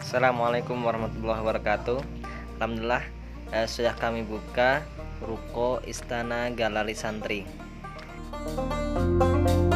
Assalamualaikum warahmatullahi wabarakatuh. Alhamdulillah, sudah kami buka ruko Istana Galeri Santri.